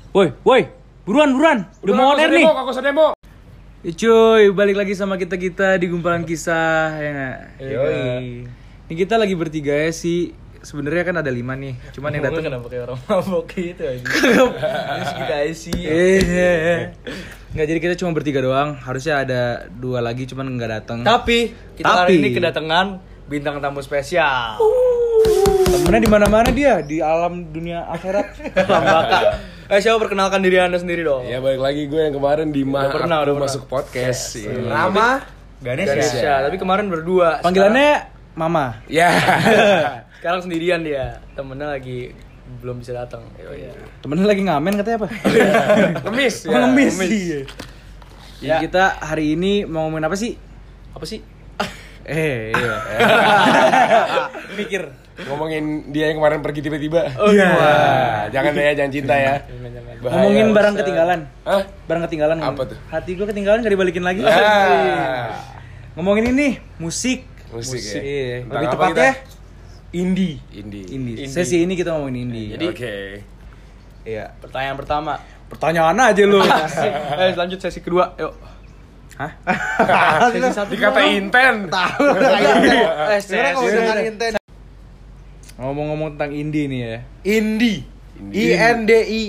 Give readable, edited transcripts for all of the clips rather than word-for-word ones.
Woi, buruan. Udah mau on air nih. Kakak demo. Cuy, balik lagi sama kita di Gumpalan Kisah ya nggak? Yoi. Ini kita lagi bertiga ya sih. Sebenarnya kan ada 5 nih. Cuman yang datang kenapa kayak orang mabok gitu aja. Terus kita isi. Nggak, jadi kita cuma bertiga doang. Harusnya ada 2 lagi, cuman nggak datang. Tapi kita hari ini kedatangan bintang tamu spesial. Temennya di mana-mana dia, di alam dunia akhirat. Alam baka. Siapa perkenalkan diri Anda sendiri dong? Ya balik lagi gue yang kemarin di Udah pernah masuk podcast. Rama Ganesha. Tapi kemarin berdua. Panggilannya Mama. Ya. Sekarang sendirian dia. Temennya lagi belum bisa datang. Temennya lagi ngamen katanya apa? Ngemis. Ngemis. Iya. Jadi kita hari ini mau ngomongin apa sih? Apa sih? Iya. Mikir. Ngomongin dia yang kemarin pergi tiba-tiba. Oh iya. Wah, jangan cinta ya. Bahaya, Ngomongin barang bisa. ketinggalan. Hah? Barang ketinggalan. Apa tuh? Hati gue ketinggalan gak dibalikin lagi. Ngomongin ini musik. Musik ya. Iya. Tentang Lebih apa tepatnya kita? indie. Indie. Sesi ini kita ngomongin indie. Jadi- Oke. Iya. Pertanyaan pertama. Pertanyaan aja lu. Lanjut sesi kedua. Yuk. Hah? Sesi satu. Dikata inten. Sebenarnya kalau dengan inten. Ngomong-ngomong tentang indie nih ya. Indie. INDI.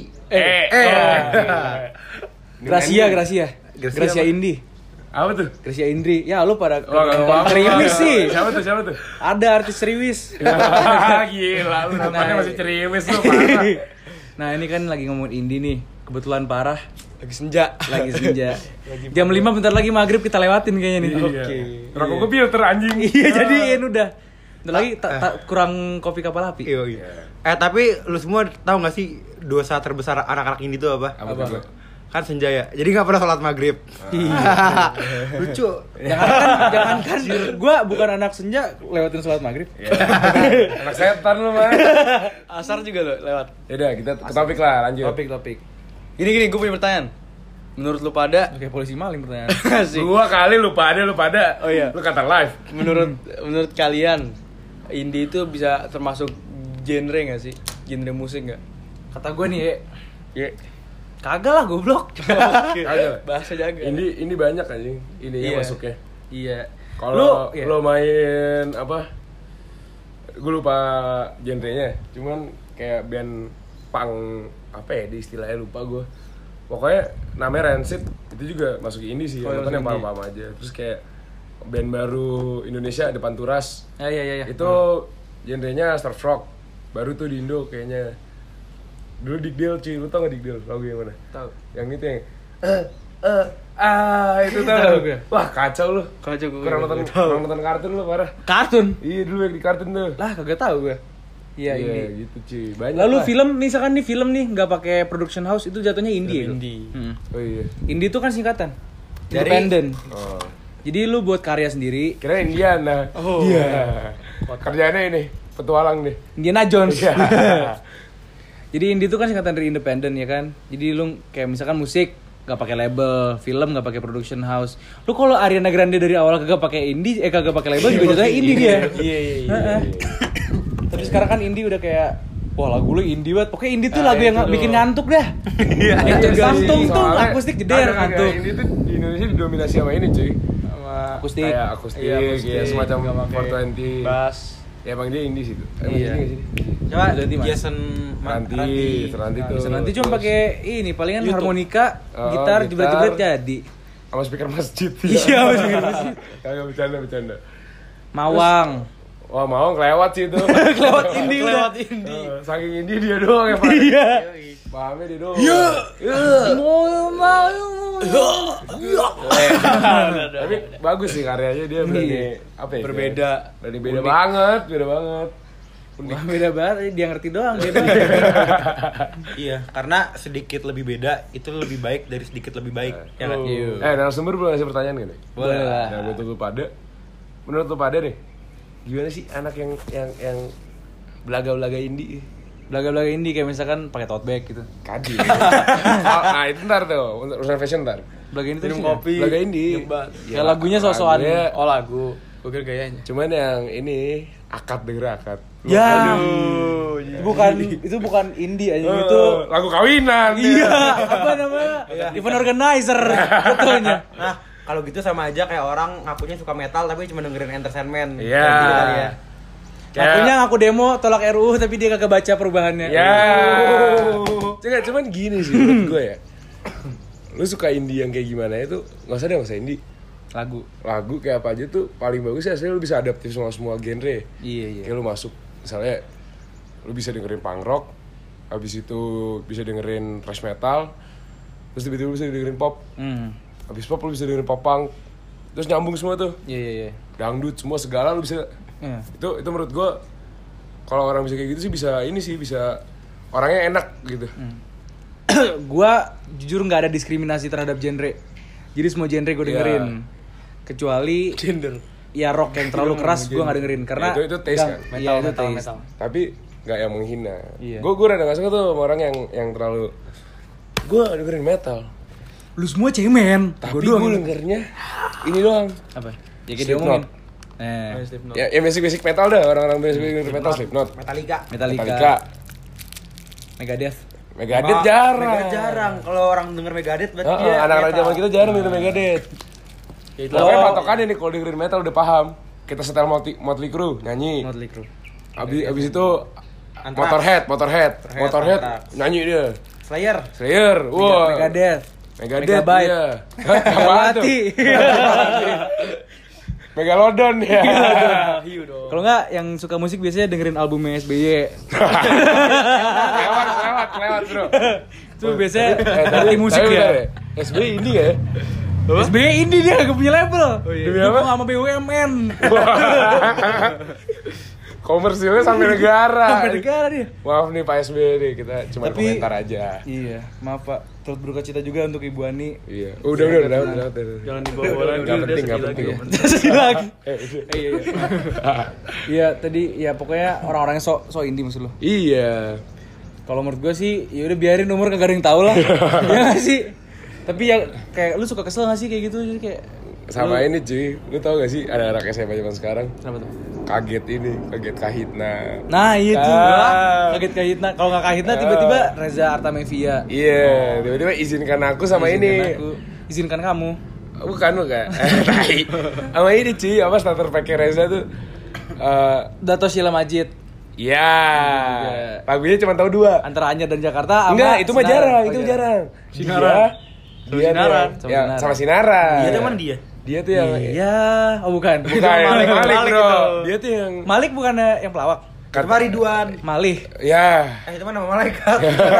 Gracia Indie. Apa tuh? Gracia Indri. Ya lu pada Gak ceriwis sih. Siapa tuh? Ada artis ceriwis. Gila, lu namanya masih ceriwis lu parah. Nah, ini kan lagi ngomongin indie nih. Kebetulan parah. Lagi senja. Lagi senja. Jam 5 bentar lagi maghrib kita lewatin kayaknya nih. Oke. Rokok gue filter anjing. Iya, jadiin udah. Bentar lagi kurang kopi kapal api. Iya. Tapi lu semua tahu nggak sih dosa terbesar anak-anak ini tuh apa? Apa tuh? Kan senja ya. Jadi nggak pernah sholat maghrib. Lucu. Jangankan gua bukan anak senja lewatin sholat maghrib. Anak setan lu mah. Asar juga lo lewat. Yaudah kita ke topik lah, lanjut. Topik. Gini, gue punya pertanyaan. Menurut lu pada, Oke, polisi maling pertanyaan. asik. Gua kali lu pada. Oh iya. Lu kata live. Menurut kalian, indie itu bisa termasuk genre nggak sih? Genre musik nggak? Kata gua nih, Ya. kagak lah goblok. Kagak. Bahasa jaga. Ini banyak anjing. Ininya Iya. masuknya. Iya. Kalau iya. lo main apa? Gue lupa genrenya. Cuman kayak band punk apa ya di istilahnya lupa gue. Pokoknya namanya Rancid itu juga masuk indie sih. Oh, Nonton yang masuk indie. paham-paham aja. Terus kayak band baru Indonesia Depan Turas. Iya. Itu genrenya surf rock. Baru tuh di Indo kayaknya. Dulu Digdel cuy, lu tau gak Digdel? Lagu yang mana? Tahu. Yang itu yang itu Tahu tau. gue. Wah kacau lu. Kacau gue. Kurang nonton kartun lu parah. Kartun. Iya dulu yang di kartun tuh. Lah, kagak tahu gua. Iya, indie. gitu cuy. Banyak. Lalu lah. film misalkan nih film nih nggak pakai production house itu jatuhnya indie. Ya? Indie. Oh iya. Indie itu kan singkatan. Dari- Independent. Oh. Jadi lu buat karya sendiri. Kira Indiana. Oh. Iya. Kerjaannya ini petualang deh. Indiana Jones. Iya. Jadi indie itu kan singkatan dari independent ya kan. Jadi lu kayak misalkan musik nggak pakai label, film nggak pakai production house. Lu kalau Ariana Grande dari awal kagak pakai indie, kagak pakai label juga jatuhnya indie dia. Iya. Tapi sekarang kan indie udah kayak wah lagu lu indie banget. Pokoknya indie tuh Ah, lagu yang itu bikin loh. ngantuk dah. Iya. Samtung tuh Soalnya akustik jeder ada ngantuk. Ini tuh di Indonesia didominasi sama ini cuy. Sama Akustik. Kayak akustik, Iya, kayak semacam nggak pakai 420. bass. Ya emang dia indie sih tuh. Iya. Indie nggak sih? Coba Jadi, Mas. Jason Ranti tuh. Nanti cuma pakai ini palingan YouTube. harmonika, Oh, gitar, gitar. jebret-jebret jadi. Sama speaker masjid. Iya, speaker masjid. Kagak bercanda. Mawang. Wah mau kelewat sih itu. Kelewat indie udah. Saking indie dia doang yang paham. Iya. Pahamnya dia doang. Tapi bagus sih karyanya dia berani apa ya? Berbeda. Berani beda Unik. banget. Wah, beda banget, dia ngerti doang dia. Iya, karena sedikit lebih beda itu lebih baik dari sedikit lebih baik. Ya kan? Narasumber boleh ngasih pertanyaan gak nih? Boleh lah. Nah, gue tunggu pada. Menurut lu pada nih, gimana sih anak yang belaga-belaga indie? Belaga-belaga indie kayak misalkan pakai tote bag gitu. Kadi. Nah itu ntar tuh, urusan fashion ntar. Belaga ini tuh Minum sih, kopi. Belaga indie. Nyebat. kayak lagunya so-soan. lagunya- Oh lagu. Gue kira gayanya. Cuman yang ini akad denger akad. Ya. Itu bukan indie aja itu. Lagu kawinan. Iya, apa namanya? Event organizer betulnya. Nah, kalau gitu sama aja kayak orang ngakunya suka metal tapi cuma dengerin entertainment. Iya. Gitu kali ya. Ngakunya ngaku demo tolak RUU tapi dia kagak baca perubahannya. Ya. Cuman gini sih menurut gue ya. Lu suka indie yang kayak gimana itu nggak usah indie. Lagu kayak apa aja tuh paling bagus ya aslinya lu bisa adaptif sama semua genre. Iya. Kayak lu masuk misalnya lu bisa dengerin punk rock, habis itu bisa dengerin thrash metal, terus tiba-tiba lu bisa dengerin pop. Habis pop lu bisa dengerin pop punk. Terus nyambung semua tuh. Iya. Dangdut semua segala lu bisa. Itu menurut gua kalau orang bisa kayak gitu sih bisa orangnya enak gitu. Gua jujur nggak ada diskriminasi terhadap genre. Jadi semua genre gue dengerin. Kecuali Gender. ya rock yang terlalu keras gue nggak dengerin karena itu taste kan. Iya, itu taste. Tapi nggak yang menghina. Iya. Gue rada nggak suka tuh sama orang yang terlalu. Gue dengerin metal. Lu semua cemen. Tapi gue dengernya ini doang. Apa? Ya kayak Slipknot. diomongin. Ya basic metal dah, orang-orang basic metal Slipknot. Metallica. Megadeth. Megadeth jarang. Megadeth jarang. Kalau orang denger Megadeth berarti dia anak-anak metal. zaman kita jarang denger Megadeth. Pokoknya patokannya nih kalau dengerin metal udah paham. Kita setel Motley Crue nyanyi. Motley Crue. Abis itu Anthrax. Motorhead Anthrax. nyanyi dia. Slayer. Wah. Megadeth. Megadeth iya. Megawati. Megalodon ya. Hiu dong. Kalau nggak yang suka musik biasanya dengerin albumnya SBY. Lewat bro. Itu biasanya dari musik tapi ya. bentar SB ini ya. SBY indie dia gak punya label. Demi Dukung apa? sama BUMN. Komersilnya sampai negara. Sampai negara dia. Maaf nih Pak SB nih, kita cuma Tapi- komentar aja. Iya, maaf Pak. Turut berduka cita juga untuk Ibu Ani. Iya. Udah. Jangan dibawa lagi. Nggak udah penting, sedih nggak lagi, penting. nggak penting. Sedih lagi. Iya. Iya, tadi ya pokoknya orang-orang yang so indie maksud lo. Iya. Kalau menurut gue sih, ya udah biarin umur kagak ada yang tahu lah. Ya nggak sih? Tapi ya kayak lu suka kesel gak sih kayak gitu? Jadi kayak Sama ini cuy, lu tau gak sih ada anak SMA zaman sekarang kenapa tuh? kaget Kahitna. Nah itu Ah. kaget Kahitna. Kalau nggak Kahitna tiba-tiba Reza Artamevia. Iya, tiba-tiba izinkan aku sama ini. Izinkan kamu. Bukan. Tai. Sama ini cuy, apa starter pack Reza tuh. Dato Sheila Majid. Iya. Juga. Lagunya cuma tahu 2. Antara Anyar dan Jakarta. Enggak, itu mah Sinaran. jarang, Oh, itu iya. jarang. Sinaran. Dia Sinaran. tuh ya, sama Sinaran. Dia tuh mana dia? Dia tuh yang Iya, oh bukan. Bukan, Malik Malik bro. itu. Dia tuh yang Malik bukannya yang pelawak. Itu mah Ridwan. Malih. ya. Itu mah nama malaikat.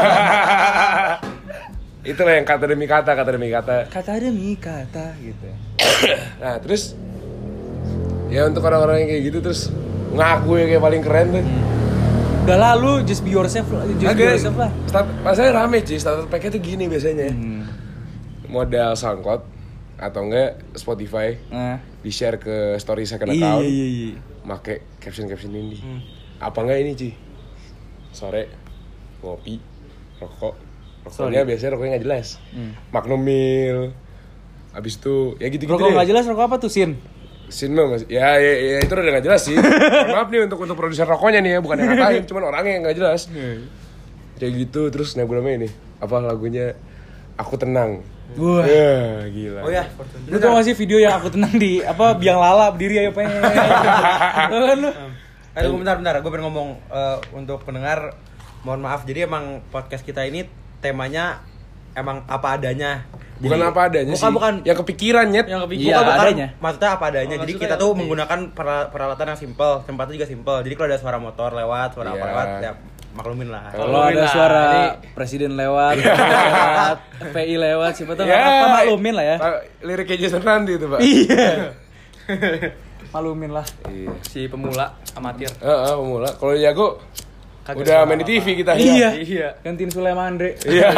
Itulah yang kata demi kata. Kata demi kata gitu. Nah, terus ya untuk orang-orang yang kayak gitu terus ngaku ya kayak paling keren tuh. Udah lalu just be yourself lah. Just be yourself lah. Pasanya rame cuy, starter pack-nya tuh gini biasanya. Modal SoundCloud atau enggak Spotify Nah. di-share ke story second account. Iya. Make caption ini. Apa enggak ini cuy? Sore ngopi, rokok. Rokoknya biasanya rokoknya nggak jelas. Magnum Mil. Abis itu ya gitu-gitu Rokok deh. nggak jelas rokok apa tuh Sin? Sin mah masih ya itu udah nggak jelas sih. Maaf nih untuk produser rokoknya nih ya, bukan yang ngatain, cuman orangnya yang nggak jelas. Kayak gitu terus namanya ini apa lagunya Aku Tenang. Wah. Ya, gila. Oh ya, Lu tau gak sih video yang aku tenang di apa biang lala berdiri ayo pengen. Tau kan lu? Tunggu bentar, gue pengen ngomong untuk pendengar, mohon maaf. Jadi emang podcast kita ini temanya emang apa adanya. Bukan Jadi, apa adanya sih. Bukan. Yang kepikiran nyet. Yang Iya, Bukan, adanya. maksudnya apa adanya. Oh, Jadi maksudnya kita tuh yang- menggunakan peralatan yang simple, tempatnya juga simple. Jadi kalau ada suara motor lewat, suara apa Iya. lewat, ya maklumin lah. Kalau ada lah, suara ini- presiden lewat, PI lewat, siapa tau apa maklumin lah ya. Liriknya Jason Randy itu, Pak. Iya. Maklumin lah. Iya. Si pemula amatir. Pemula. Kalau jago Kagak udah suara main di TV kita. Iya. Iya. Gantiin Sulaiman Andre. Iya.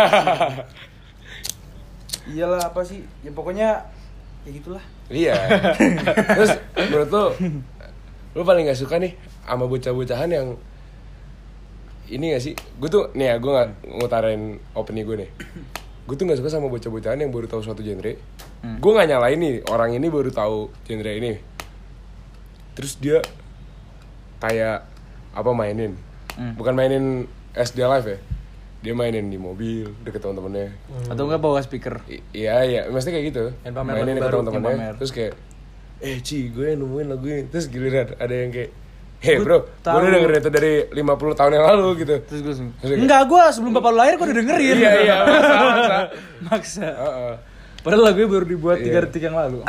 Iyalah apa sih? Ya pokoknya ya gitulah. Iya. Terus menurut lu paling gak suka nih sama bocah-bocahan yang ini gak sih? Gue tuh nih ya, gue gak ngutarin opini gue nih. Gue tuh gak suka sama bocah-bocahan yang baru tahu suatu genre. Gue gak nyalain nih, orang ini baru tahu genre ini. Terus dia kayak mainin. Bukan mainin SD Live ya. Dia mainin di mobil deket teman-temannya. Atau enggak bawa speaker. Iya, mesti kayak gitu. Yang pamer Mainin lagu deket baru, teman-temannya. yang pamer. Terus kayak gue nemuin lagu ini. Terus giliran ada yang kayak bro, gue tahu. udah dengerin itu dari 50 tahun yang lalu gitu. Terus gue Terus enggak, gue sebelum bapak lu lahir gue udah dengerin. Iya, masa. Maksa. Heeh. Padahal lagunya baru dibuat 3 Iya. detik yang lalu.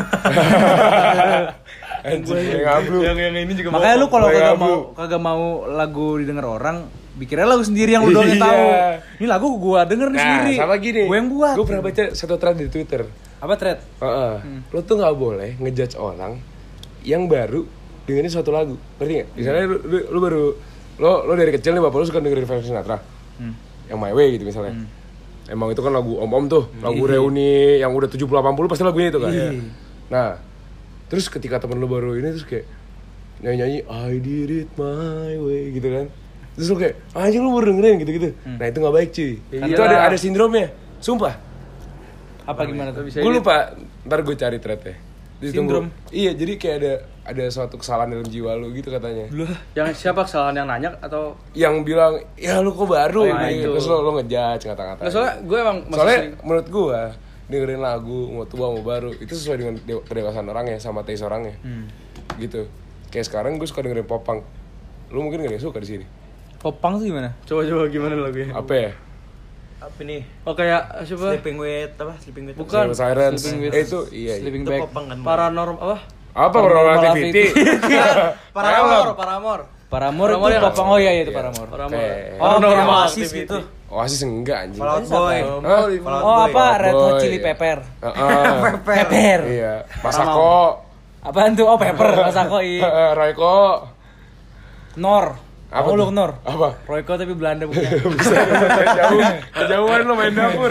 Anjing, yang ngablu. Yang ini juga Makanya lu kalau Gue kagak ngablu. mau lagu didengar orang, bikinnya lagu sendiri yang lu doang yang Iya. tahu. Ini lagu gua denger nih Nah, sendiri. sama gini. Gue yang buat. Gue pernah baca satu thread di Twitter. Apa thread? Heeh. Lo tuh nggak boleh ngejudge orang yang baru dengerin suatu lagu. Ngerti nggak? Misalnya lu baru lo dari kecil nih bapak lu suka dengerin Frank Sinatra. Yang My Way gitu misalnya. Emang itu kan lagu om-om tuh, lagu reuni yang udah 70-80 pasti lagunya itu kan. Nah, terus ketika temen lu baru ini terus kayak nyanyi-nyanyi I did it my way gitu kan. Terus lu kayak anjing lu baru dengerin gitu-gitu. Nah, itu nggak baik cuy. Itu ada sindromnya. Sumpah. Apa gimana tuh? Gue lupa, ntar gue cari threadnya. Sindrom? Iya, jadi kayak ada suatu kesalahan dalam jiwa lu gitu katanya. Yang siapa kesalahan yang nanya atau Yang bilang, ya lu kok baru, Oh, yang gitu. itu. Terus lo ngejudge kata-kata. nggak, soalnya gue emang masih Soalnya sering- menurut gue dengerin lagu mau tua mau baru itu sesuai dengan kedewasaan orangnya sama taste orangnya. Gitu. Kayak sekarang gue suka dengerin pop punk. Lu mungkin gak ada yang suka di sini. Popang tuh gimana? coba gimana lagunya? Apa ya? Apa nih? Oh kayak siapa? Sleeping with apa? Sleeping with Bukan. Silence. Sleeping with- Itu iya. Sleeping itu Bag. popang kan. Paranormal apa? Apa Paranormal Paranormal Activity? Paramore. Paramore Paramore itu yang- popang. Oh iya itu Paramore. Paramore. Kayak- Oh, Paranormal kayak Oasis Activity. gitu. Oasis enggak anjing. Fall Out Boy. Hah? Fall Out Oh Boy. apa Red Hot Boy. Chili Pepper. Heeh. Pepper. Iya. Masako. Apaan tuh? Oh Pepper Masako i. Royko. Nor. Apa Oh lu tuh? Nor. Apa? Royko tapi Belanda bukan. Kejauhan lo main dapur.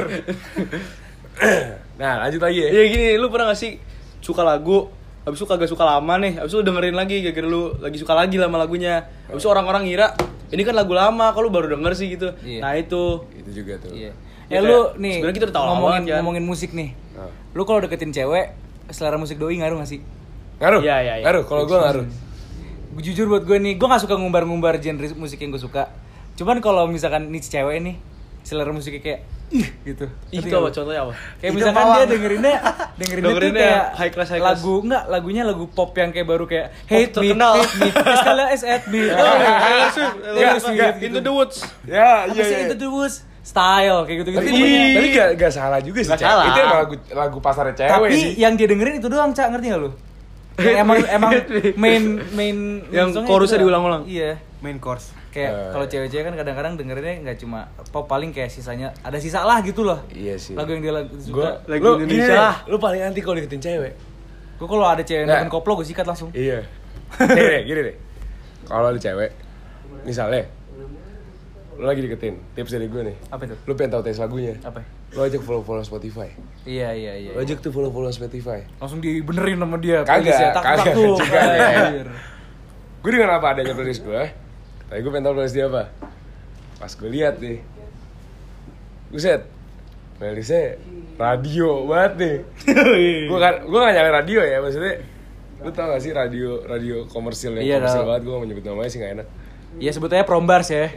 Nah, lanjut lagi ya. Iya gini, lu pernah gak sih suka lagu, habis itu kagak suka lama nih, habis itu lu dengerin lagi, gara-gara lu lagi suka lagi sama lagunya. Habis itu orang-orang ngira, ini kan lagu lama, kok lu baru denger sih gitu. Iya. Nah itu. Itu juga tuh. Iya. Ya, Lu kayak, nih sebenarnya kita udah tahu ngomongin awal kan. ngomongin musik nih. Ah. Lu kalau deketin cewek, selera musik doi ngaruh gak sih? Ngaruh? Iya, iya, iya. Ngaruh, kalau gue ngaruh. Jujur buat gue nih, gue gak suka ngumbar-ngumbar genre musik yang gue suka. Cuman kalau misalkan nih cewek nih, selera musiknya kayak gitu. Itu Ngerti apa nggak lu? contohnya apa? Kayak Itu misalkan Mawang. dia dengerinnya tuh Dengerinnya kayak high class. lagu enggak, lagunya lagu pop yang kayak baru kayak hate me, terkenal. hate me, sekalian at me. Taylor Swift, Taylor Swift, enggak, gitu. Into the Woods. Ya, Apa sih itu tuh style kayak gitu-gitu. Tapi gak salah juga sih, Gak Cak. salah. Itu emang lagu pasarnya cewek Tapi sih. yang dia dengerin itu doang, Cak, ngerti gak lu? Yang emang main Yang songnya chorusnya itu doang. diulang-ulang. Iya. Main course. Kayak kalau cewek-cewek kan kadang-kadang dengerinnya nggak cuma pop, paling kayak sisanya ada sisa lah gitu loh. Iya sih. Lagu yang dia Gue, suka. Lagu lu Indonesia gini lah. deh, lu paling anti kalau deketin cewek. Gue kalau ada cewek yang Nggak. deketin koplo gue sikat langsung. Iya. Gini deh. Kalau ada cewek, misalnya, lu lagi deketin, tips dari gue nih. Apa itu? Lu pengen tahu tes lagunya. Apa? Lu ajak follow Spotify. Iya. Lu ajak tuh follow Spotify. Langsung dibenerin sama dia. Kagak, playlistnya. Tak kagak tuh. juga deh. Anjir. Gue dengan apa adanya playlist gue, tapi gue pengen tahu playlist dia apa. Pas gue lihat nih, buset, playlistnya radio banget nih. Gue gak nyalain radio ya, maksudnya lu tau gak sih radio komersil yang Iya, komersil tau. banget, gue gak mau nyebut namanya sih gak enak. Iya sebetulnya prombars ya.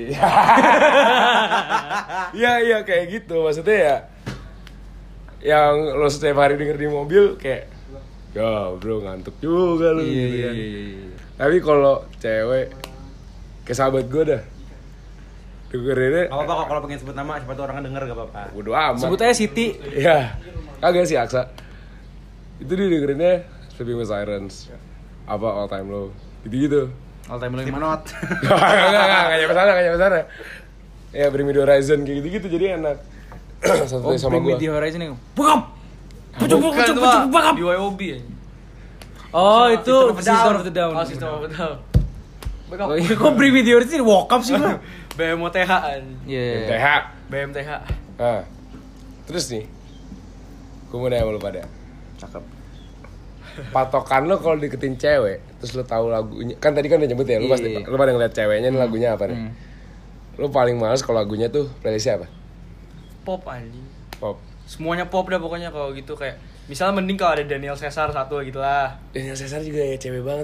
Iya kayak gitu, maksudnya ya yang lo setiap hari denger di mobil kayak ya bro ngantuk juga lu gitu kan. Iya. Tapi kalau cewek kayak sahabat gue dah dengerinnya Gak apa-apa kok kalau pengen sebut nama, siapa tuh orang denger gak apa-apa. bodo amat. Sebut aja Siti. Ya, kagak sih Aksa. Itu dia dengerinnya Sleeping with Sirens, apa All Time Low, gitu-gitu. All time low yang Slipknot. mana? Gak nyampe sana. Ya Bring Me The Horizon kayak gitu-gitu jadi enak. Satu Oh, sama Bring Me gue. The Horizon yang Bukap! Bukan tuh, Pak. BYOB ya. Oh itu System System of of a the Down. Oh, System of a Down. Oh iya, kok Bring Me The Horizon walk up sih lu? BMOTH. Iya. MTH. BMTH. Nah, terus nih, gue mau nanya sama lu pada. Cakep. Patokan lo kalau deketin cewek, terus lo tahu lagunya, kan tadi kan udah nyebut ya, lo pasti Iya. lo pada ngeliat ceweknya nih lagunya apa nih? Lo paling males kalau lagunya tuh playlistnya apa? Pop anjing. Pop. Semuanya pop dah pokoknya kalau gitu kayak misalnya mending kalau ada Daniel Caesar satu gitu lah. Daniel Caesar juga ya cewek banget pak.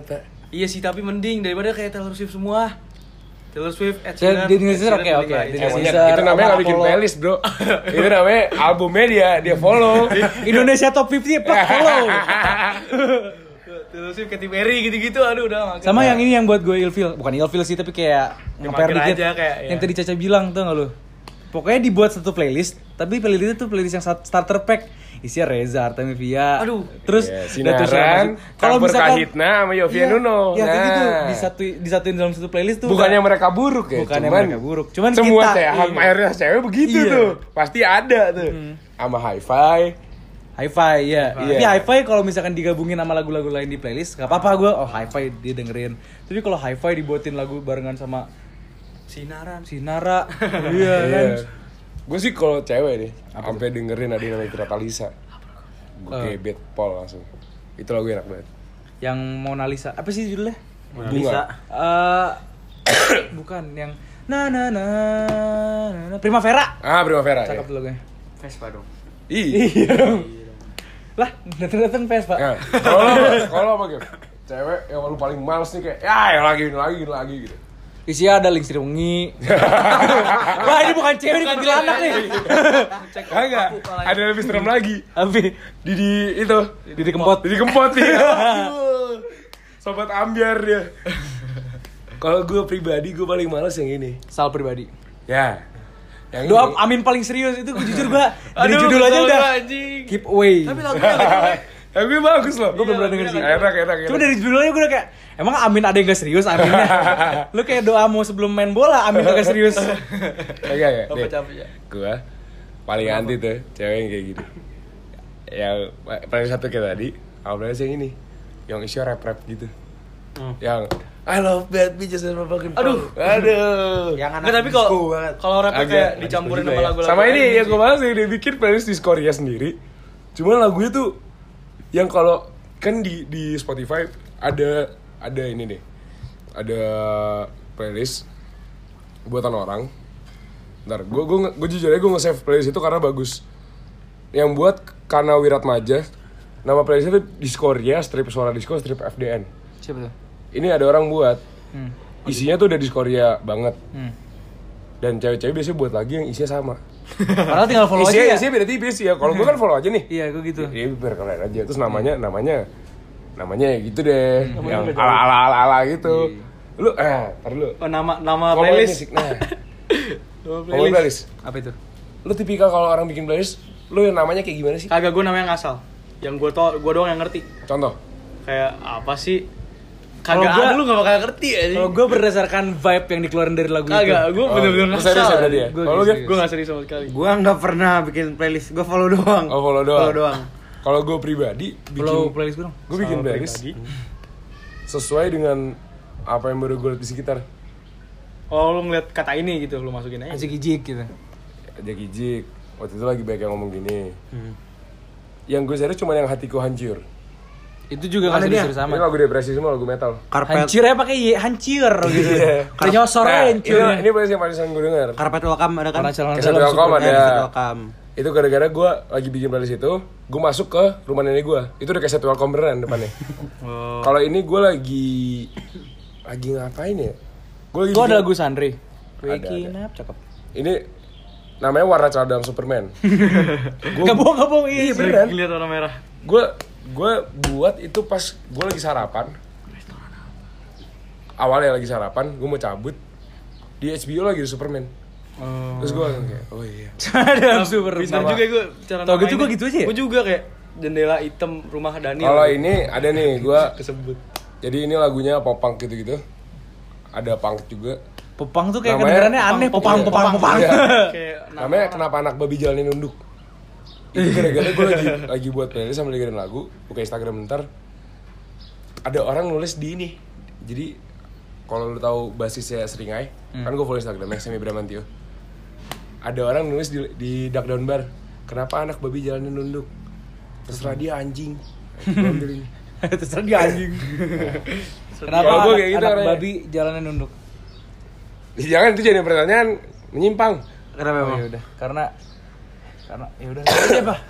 Iya sih, tapi mending daripada kayak Taylor Swift semua. Taylor Swift, Ed Saya Sheeran. di Indonesia Ed Sheeran oke, mending oke. lah, Di Ed Sheeran. Indonesia. Itu namanya nggak bikin Apollo. playlist bro. Itu namanya albumnya dia follow. Indonesia Top 50 plak follow. Taylor Swift, Katy Perry gitu-gitu, aduh udah makin. Sama yang ini yang buat gue ilfil, bukan ilfil sih tapi kayak Ya, nge-pair mager dikit. aja kayak, ya. Yang tadi Caca bilang tuh nggak lu? Pokoknya dibuat satu playlist, tapi playlist itu playlist yang starter pack. Isinya Reza, Artemisia. Aduh. Terus Sinaran, kalau campur misalkan Kahitna sama Yovie iya, Nuno. ya kayak gitu Nah. disatuin dalam satu playlist tuh. Bukannya udah- mereka buruk ya, Bukannya cuman mereka buruk. Cuman semua kita, cewek, iya. mayoritas cewek begitu Iya. tuh. Pasti ada tuh. Sama hi-fi. Hi-Fi ya. Hi-Fi. Ini Hi-Fi kalau misalkan digabungin sama lagu-lagu lain di playlist, nggak apa-apa gue. Oh Hi-Fi dia dengerin. Tapi kalau Hi-Fi dibuatin lagu barengan sama Sinaran. Sinara, iya kan. Gue sih kalau cewek deh, sampai dengerin ada yang namanya Tirta Lisa. Gue gebet pol langsung. Itu lagu enak banget. Yang Mona Lisa. Apa sih judulnya? Mona Bunga. Lisa. Bukan yang na na na na Primavera. Ah, Primavera. Cakep Ya. tuh lagunya. Vespa dong. Iya. Lah, dateng Vespa. Nah, kalau apa gitu? Cewek yang lu paling males nih kayak, ya yang lagi gitu. Isinya ada Lingstri Wengi. Wah, ini bukan cewek, ini kuntilanak nih. Enggak, ada lebih serem lagi. Abi, Didi itu, Didi Kempot. Didi Kempot nih. Sobat ambiar dia. Kalau gue pribadi, gue paling males yang ini. Sal pribadi. Ya. Yang Doa ini. Amin paling serius itu gue jujur gue dari Aduh, judul aja kesel udah gua, anjing. keep away. Tapi lagunya agak jelek. Yang gue bagus loh. Gue belum pernah denger sih. Enak. Cuma dari judulnya gue udah kayak emang Amin ada yang gak serius Aminnya. Lu kayak doa mau sebelum main bola Amin gak serius. Enggak. Apa capek ya? Gue paling anti tuh cewek yang kayak gitu. Yang paling satu kayak tadi, awalnya yang ini, yang isinya rap gitu. Yang I love bad bitches and motherfucking Aduh. Yang anak Nggak, tapi kalau disco banget. kalau rapnya Agak kayak dicampurin juga sama ya. lagu-lagu Sama ini lain yang sih. gue bahas yang dia bikin playlist di Korea sendiri. Cuman lagunya tuh yang kalau kan di Spotify ada ini deh. Ada playlist buatan orang. Ntar gue jujur aja gue nge-save playlist itu karena bagus. Yang buat Kana Wiratmaja. Nama playlistnya tuh Diskoria, strip suara disco, strip FDN. Siapa tuh? Ini ada orang buat. Isinya tuh udah Diskoria banget. Dan cewek-cewek biasanya buat lagi yang isinya sama. Padahal tinggal follow aja ya. Isinya beda tipis ya. Kalau gue kan follow aja nih. Iya, gue gitu. Iya biar keren aja. Terus namanya ya gitu deh. Yang ala gitu. Lu tar lu. Oh, nama Follow playlist. music. Nah, Nama follow playlist. Apa itu? Lu tipikal kalau orang bikin playlist, lu yang namanya kayak gimana sih? Kagak, gue namanya ngasal. Yang gue doang yang ngerti. Contoh. Kayak apa sih? Kalau Kagak gua- ada, lu gak bakal ngerti aja. Kalau gue berdasarkan vibe yang dikeluarin dari lagu itu. Kagak, gue bener-bener lu ngasal. serius ya berarti ya? Gua Kalau lu serius. Gap? Gue gak serius sama sekali. Gua nggak pernah bikin playlist, gua follow doang. Oh, follow doang. Follow doang. Kalau gue pribadi Follow bikin playlist gue dong. gue bikin Sama playlist pribadi. sesuai dengan apa yang baru gue lihat di sekitar. Oh, lu ngeliat kata ini gitu, lu masukin aja. Asik ijik gitu. Jaki Jik waktu itu lagi banyak yang ngomong gini. Yang gue serius cuma yang hatiku hancur. Itu juga Mana gak dia? serius sama. Ini lagu depresi semua, lagu metal. Karpet Hancurnya pakai Y, hancur gitu. Kayak nyosor Nah, hancur. ini playlist yang paling sering gue denger. Karpet welcome ada kan? Orang calon Kesan dalam Welcome Superman. ada. Karpet welcome. Itu gara-gara gue lagi bikin playlist itu, gue masuk ke rumah nenek gue. Itu udah kayak welcome beneran depannya. Oh. Kalau ini gue lagi ngapain ya? Gue lagi Itu ada bikin- lagu Sandri. Ada. Waking up, cakep. Ini namanya Warna Cadang Superman. Gak bohong, iya. beneran. Lihat warna merah. Gue buat itu pas gue lagi sarapan. Awalnya lagi sarapan, gue mau cabut. Di HBO lagi ada Superman. Terus gue kayak, oh iya. Ada Superman. Pintar juga gue cara Tau gitu namainnya. gua gitu aja ya? Gue juga kayak jendela hitam rumah Daniel. Kalau ini ada nih, gue kesebut. jadi ini lagunya pop punk gitu-gitu. Ada punk juga. Popang tuh kayak Namanya- kedengerannya aneh. Popang. Iya. Kayak Namanya Kenapa Anak Babi Jalanin Nunduk. Itu gara-gara gue lagi buat playlist sambil dengerin lagu, buka Instagram bentar. Ada orang nulis di ini. Jadi kalau lu tahu basisnya Seringai, kan gue follow Instagramnya Semi Bramantio. Ada orang nulis di Duck Down Bar, kenapa anak babi jalanin nunduk? Terserah dia anjing. Gua ambil ini. Terserah dia anjing. Kenapa Kalau gua anak, kayak gitu anak orangnya. babi jalannya nunduk? Jangan itu jadi pertanyaan menyimpang. Kenapa Oh, emang? ya udah. Karena ya udah. Aja apa?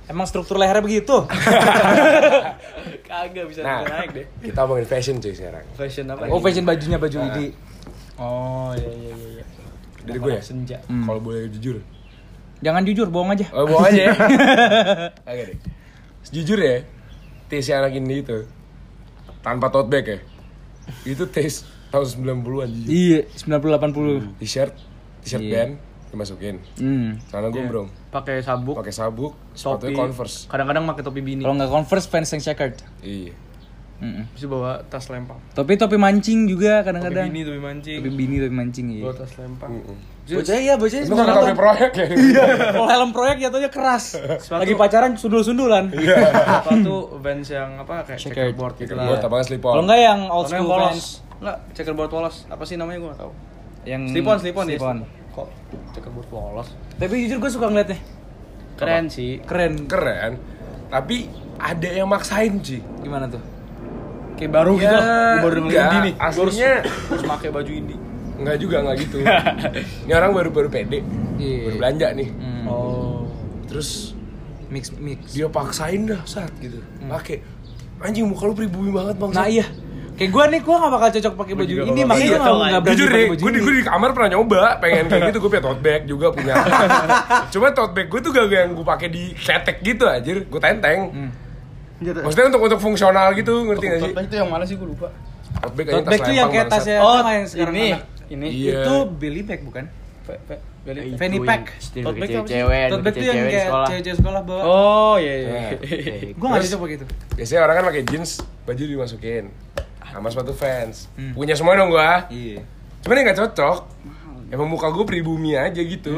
Emang struktur lehernya begitu. Kagak bisa Nah, naik deh. kita ngomongin fashion cuy sekarang. Fashion apa? Oh, fashion bajunya baju Nah. ini. Oh, iya. Dari gue ya, Senja. kalau boleh jujur. Jangan jujur, bohong aja. Oh, bawa aja ya. Oke deh. Sejujur ya, taste anak ini itu tanpa tote bag ya. Itu taste tahun 90-an jujur. Iya, 90-80. T-shirt Iya. band dimasukin. Celana gombrong, Pakai sabuk, pakai sabuk, topi, sepatunya Converse. kadang-kadang pakai topi bini. Kalau nggak Converse, fans yang checkered. Iya. Bisa bawa tas lempang. Topi mancing juga Topi kadang-kadang. bini, topi mancing. Topi bini, topi mancing iya. Bawa tas lempang. Bocah iya, bocah Itu kan topi proyek ya. Kalau helm proyek jatuhnya keras. Lagi pacaran sundul-sundulan. Sepatu Vans yang apa kayak Checkered. checkerboard gitu Gue lah. tabangan slip Kalau on. enggak yang old Kalau yang school polos. fans. Enggak, checkerboard polos. Apa sih namanya gue enggak tahu. Yang Slip-on ya. slip-on. Kok checkerboard polos? Tapi jujur gue suka ngeliatnya. Keren sih. Keren. Keren. Tapi ada yang maksain sih. Gimana tuh? Kayak baru gitu. Gue baru denger enggak. indie nih. Gua Aslinya harus pakai baju indie. enggak juga, enggak gitu. Ini orang baru pede. Iya. Baru belanja nih. Oh. Terus Mix. dia paksain dah saat gitu. Pakai. Anjing muka lu pribumi banget bang. Nah iya. Kayak gue nih, gue gak bakal cocok pakai baju juga ini, nggak makanya gue bakal cocok, gak berani Jujur pakai deh, baju gue ini. di kamar pernah nyoba pengen kayak gitu, gue punya tote bag juga punya. Cuma tote bag gue tuh gak yang gue pakai di ketek gitu anjir, gue tenteng. Maksudnya untuk fungsional gitu, ngerti gak sih? Tote bag itu yang mana sih gue lupa. Tote bag Tote bag tuh yang kayak tasnya Oh, apa yang sekarang ini. anak. Ini. Iya. Itu belly bag bukan? Beli. Fanny pack. Tote bag apa sih? cewek, Tote bag tuh yang kayak cewek-cewek sekolah bawa. Oh, iya. Nah, Gue gak cocok pakai itu. biasanya orang kan pakai jeans, baju dimasukin sama sepatu Vans. Punya semua dong gua. Iya. Cuman yang gak cocok. Emang muka gue pribumi aja gitu.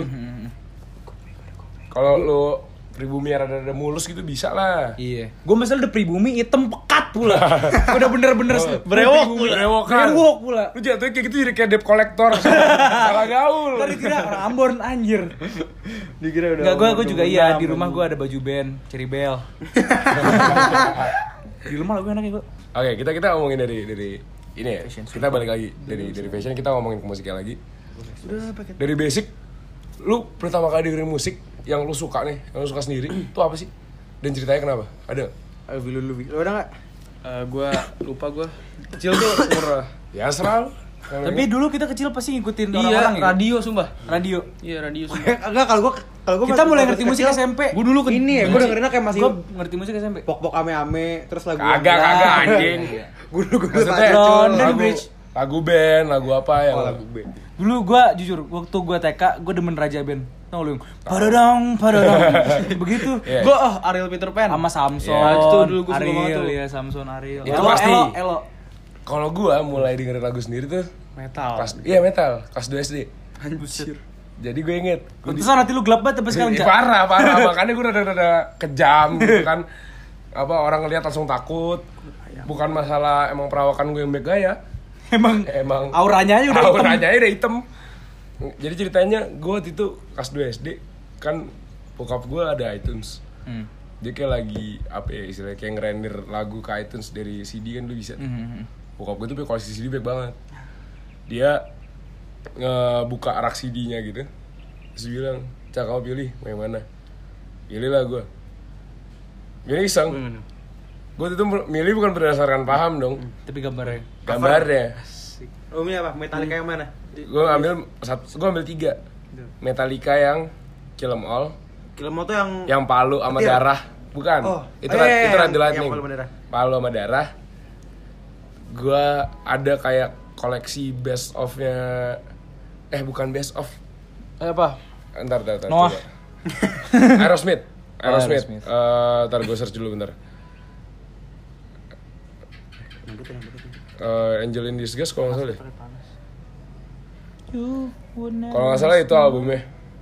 Kalau lo pribumi rada-rada mulus gitu bisa lah. Iya. Gue misalnya udah pribumi hitam pekat pula. Udah bener-bener Brewok pribumi. brewokan. Brewok pula. Lu jatuhnya kayak gitu jadi kayak debt collector. Salah gaul. Tadi kira orang Ambon anjir. Dikira udah. Enggak, gue juga iya, di rumah gue ada baju band Cherry Bell. Di rumah lagu enaknya gue. Oke, kita ngomongin dari ini ya. Kita balik lagi dari fashion, kita ngomongin ke musiknya lagi. Dari basic, lu pertama kali dengerin musik yang lu suka nih, yang lu suka sendiri, itu apa sih? Dan ceritanya kenapa? Ada? Ayo lu udah enggak? Gue lupa gue. Kecil tuh umur. Ya serah lu. Tapi dulu kita kecil pasti ngikutin Iya, orang-orang ya. radio sumpah. Radio. Iya, radio sumpah. Enggak, kalau gua Kita mulai ngerti musik SMP. Gue dulu ini ya, gue dengerinnya kayak masih Gue ngerti musik SMP. pok-pok ame-ame, terus lagu Kagak anjing. Gue dulu Maksudnya London lagu, Bridge. lagu band, lagu apa yang lagu B. Dulu gue jujur, waktu gue TK, gue demen Raja Band. Tau lu yang padadang. Begitu. Iya. Gue Ariel Peter Pan. Sama Samson, Ya, itu dulu gua suka banget Ariel, tuh. ya Samson, Ariel. Itu Elo, pasti. Elo. Kalau gua mulai dengerin lagu sendiri tuh Metal. metal, kelas 2 SD. Anjir. Jadi gue inget Pantesan hati lu gelap banget sampai sekarang, Ih, Cak. parah, makanya gue rada kejam gitu kan. Apa orang ngeliat langsung takut. Bukan masalah emang perawakan gue yang baik gaya. Emang auranya aja udah hitam. auranya aja udah hitam. Jadi ceritanya gue waktu itu kelas 2 SD kan bokap gue ada iTunes. Dia kayak lagi apa ya istilahnya kayak ngerender lagu ke iTunes dari CD kan lu bisa. Bokap gue tuh punya koleksi CD baik banget. Dia ngebuka rak CD-nya gitu. Terus dia bilang, "Cak, kamu pilih mau yang mana?" Pilih lah gue. Milih iseng. Gue itu milih bukan berdasarkan paham dong. Tapi gambarnya. Gambarnya. Oh, ini apa? Metallica yang mana? Gue ambil 3. Metallica yang Kill 'Em All, Kilmo tuh yang palu sama Petir. darah. Bukan. Oh, Itu iya, itu Ride the yang Lightning. palu sama darah. Palu sama darah. Gue ada kayak koleksi best of-nya. Bukan best of. Apa? Entar. Noah. coba. Aerosmith. Aerosmith. Ntar gue search dulu bentar. Angel in Disguise kalau nggak salah deh. Kalau nggak salah itu albumnya.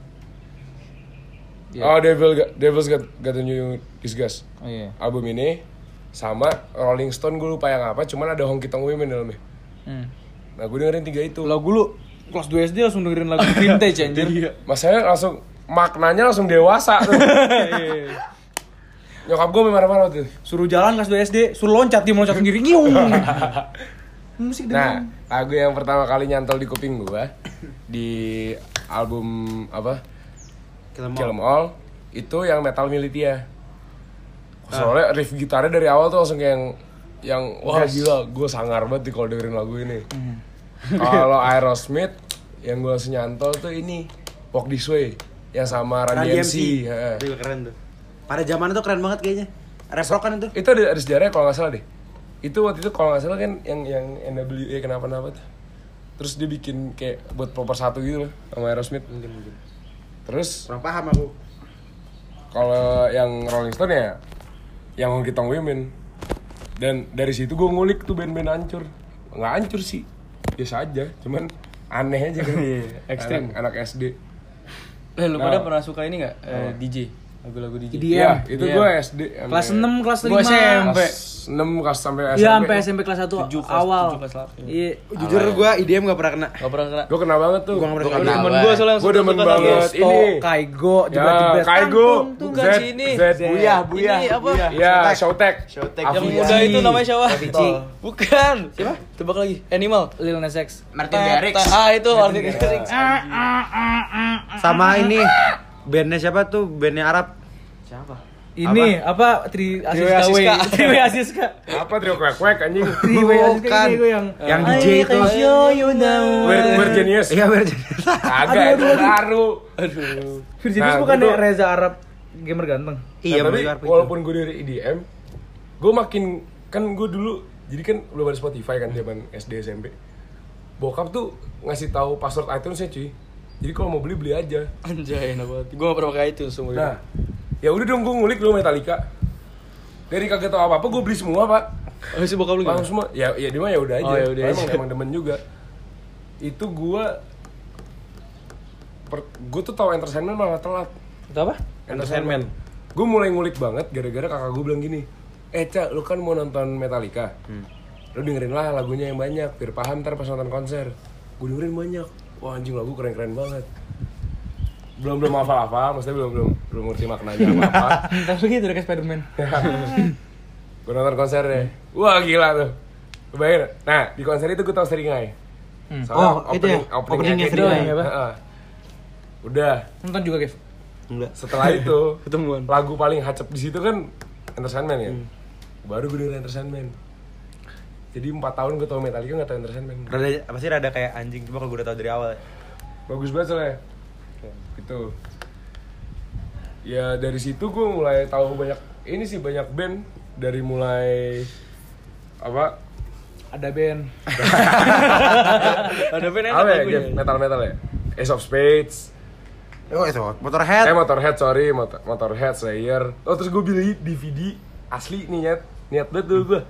Yeah. Oh, Devil's Got a New Disguise. Oh iya. Album ini sama Rolling Stone gue lupa yang apa, cuman ada Honky Tonk Women dalamnya. Nah, gue dengerin 3 itu. Lagu lu kelas 2 SD langsung dengerin lagu vintage anjir. Masanya langsung maknanya langsung dewasa tuh. Nyokap gue marah-marah tuh. Suruh jalan kelas 2 SD, suruh loncat, dia mau loncat sendiri. Ngiung. Musik Nah, lagu yang pertama kali nyantol di kuping gue di album apa? Kill 'Em All itu yang Metal Militia. Soalnya riff gitarnya dari awal tuh langsung kayak yang wah gila, gue sangar banget nih kalau dengerin lagu ini. Kalau Aerosmith yang gue langsung nyantol tuh ini Walk This Way yang sama Run DMC. Itu juga keren tuh. Pada zaman itu keren banget kayaknya. Rap rock kan itu. Itu ada sejarahnya kalau nggak salah deh. Itu waktu itu kalau nggak salah kan yang NWA kenapa-napa tuh. Terus dia bikin kayak buat proper 1 gitu loh sama Aerosmith. Terus Kurang paham aku. kalau yang Rolling Stone ya yang Honky Tonk Women. Dan dari situ gue ngulik tuh band-band hancur. Nggak hancur sih, biasa aja, cuman aneh aja kan. Ekstrim. Anak SD. Lu pada pernah suka ini nggak DJ? Lagu-lagu DJ. Iya, itu gue SD. Kelas 6, kelas 5. Gua SMP. Kelas 6 kelas sampai SMP. Iya, sampai SMP kelas 1 awal. 7 kelas 8. Iya. Jujur gue IDM gak pernah kena. Gak pernah kena. Gue kenal banget tuh. Gua nggak pernah Temen kenal. gue soalnya Gue demen banget ini. Kaigo, Ya, jebret-jebret Kaigo, Tuh kan si ini. Z, Buya. Ini apa? ya, Showtek. Yang muda itu namanya siapa? Avicii. Bukan. Siapa? Tebak lagi. Animal. Lil Nas X. Martin Garrix. Itu Martin Garrix. Sama ini bandnya siapa tuh? Bandnya Arab. Ini apa Tri Asiska. Asiska. Tri Asiska. Apa trio kwek-kwek anjing? Tri Asiska ini gue yang DJ itu. We're Genius. Iya berarti. Kagak itu baru. Virginius Nah, bukan gua tuh- Reza Arab gamer ganteng. Iya Nah, tapi benar. walaupun gue dari EDM, gue makin kan gue dulu jadi kan belum ada Spotify kan zaman SD SMP. Bokap tuh ngasih tahu password iTunes-nya cuy. Jadi kalau mau beli aja. Anjay, enak banget. Gue gak pernah pakai itu semua. Nah, ya udah dong gue ngulik dulu Metallica. Dari kagak tahu apa-apa gue beli semua, Pak. Oh, si bokap lu Paham gimana? semua. Ya dia mah ya udah aja. Oh, ya udah emang aja. emang demen juga. Itu gue tuh tahu Entertainment malah telat. Itu apa? Entertainment. Gue mulai ngulik banget gara-gara kakak gue bilang gini, Ca, lu kan mau nonton Metallica, lu dengerin lah lagunya yang banyak, biar paham ntar pas nonton konser. Gue dengerin banyak, wah anjing lagu keren-keren banget. Belum hafal-hafal, maksudnya belum ngerti maknanya apa-apa. Tapi gitu udah kayak Spiderman. Gue nonton konsernya, wah gila tuh. Bayangin, nah di konser itu gue tau Seringai. Oh, itu ya? Openingnya Seringai. Heeh. Udah, Nonton juga, Kev. Enggak. setelah itu Ketemuan. lagu paling hacep di situ kan Entertainment ya. Baru gue dengerin Entertainment. Jadi 4 tahun gue tau Metallica gak tau Entertainment. Rada apa sih rada kayak anjing coba kalau gue udah tahu dari awal. Bagus banget soalnya. Gitu. Ya dari situ gue mulai tahu banyak ini sih, banyak band dari mulai apa? Ada band. Ada band enak Apa ya? lagunya. Metal ya. Ace of Spades. Oh itu Motorhead. Motorhead, sorry, Motorhead, Slayer. Oh terus gue beli DVD asli nih niat banget dulu gue.